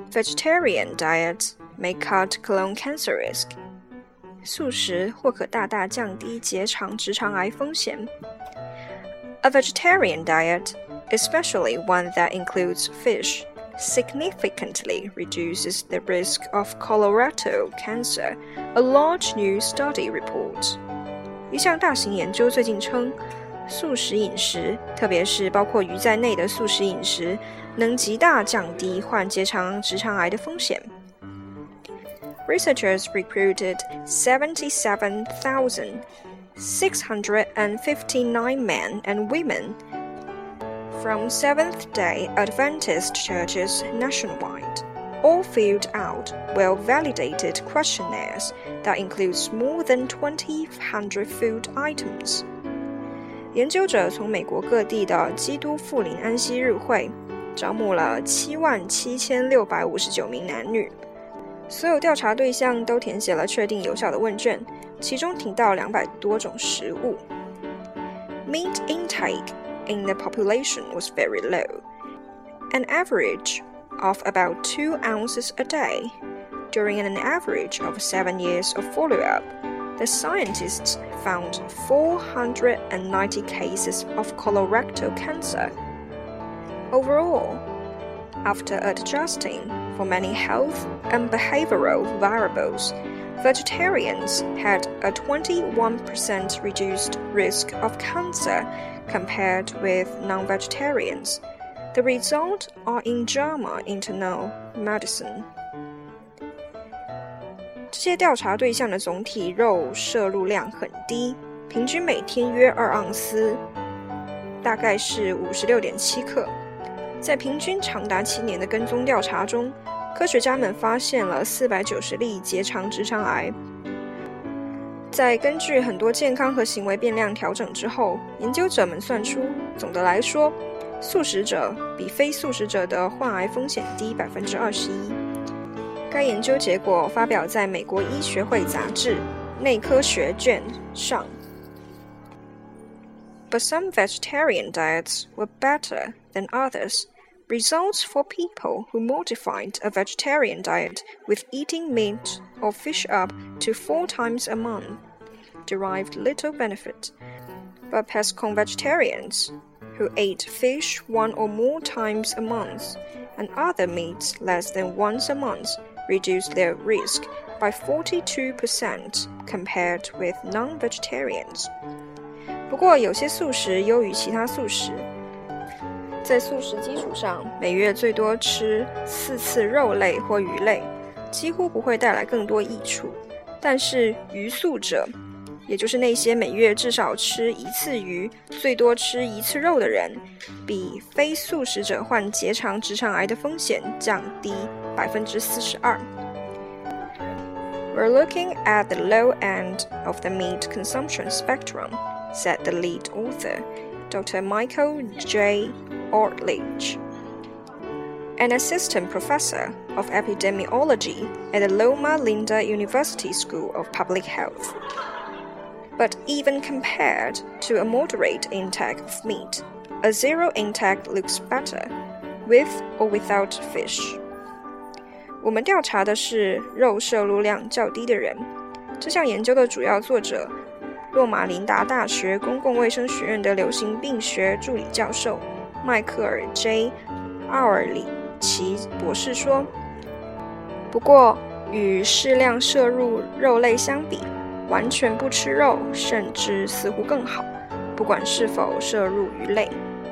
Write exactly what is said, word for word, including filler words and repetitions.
Vegetarian diets may cut colon cancer risk. 素食或可大大降低结肠直肠癌风险。A vegetarian diet, especially one that includes fish, significantly reduces the risk of colorectal cancer, a large new study reports. 一项大型研究最近称，素食饮食，特别是包括鱼在内的素食饮食，能极大降低患结肠直肠癌的风险。Researchers recruited seventy-seven thousand six hundred fifty-nine men and women from Seventh-day Adventist churches nationwide. All filled out well-validated questionnaires that includes more than twenty hundred food items. 研究者从美国各地的基督复临安息日会招募了七万七千六百五十九名男女。所有调查对象都填写了确定有效的问卷，其中提到两百多种食物。Meat intake in the population was very low, an average of about two ounces a day. During an average of seven years of follow-up, the scientists found four hundred ninety cases of colorectal cancer. Overall, after adjusting for many health and behavioral variables, vegetarians had a twenty-one percent reduced risk of cancer compared with non-vegetarians. The results are in JAMA Internal Medicine. 这些调查对象的总体肉摄入量很低，平均每天约二盎司，大概是 五十六点七克。在平均长达七年的跟踪调查中，科学家们发现了四百九十例结肠直肠癌。在根据很多健康和行为变量调整之后，研究者们算出，总的来说，素食者比非素食者的患癌风险低 百分之二十一。该研究结果发表在美国医学会杂志内科学卷上。But some vegetarian diets were better than others. Results for people who modified a vegetarian diet with eating meat or fish up to four times a month derived little benefit. But pescon vegetarians who ate fish one or more times a month and other meats less than once a month reduced their risk by forty-two percent compared with non-vegetarians. 不过有些素食优于其他素食，在素食基础上，每月最多吃四次肉类或鱼类，几乎不会带来更多益处。但是鱼素者，也就是那些每月至少吃一次鱼、最多吃一次肉的人，比非素食者患结肠直肠癌的风险降低 百分之四十二。We're looking at the low end of the meat consumption spectrum, said the lead author, Doctor Michael J. Ortlich, an assistant professor of epidemiology at the Loma Linda University School of Public Health. But even compared to a moderate intake of meat, a zero intake looks better, with or without fish. 我们调查的是肉摄入量较低的人。这项研究的主要作者，洛马林达大学公共卫生学院的流行病学助理教授迈克尔 J. 奥尔里奇博士说，不过与适量摄入肉类相比，完全不吃肉甚至似乎更好，不管是否摄入鱼类。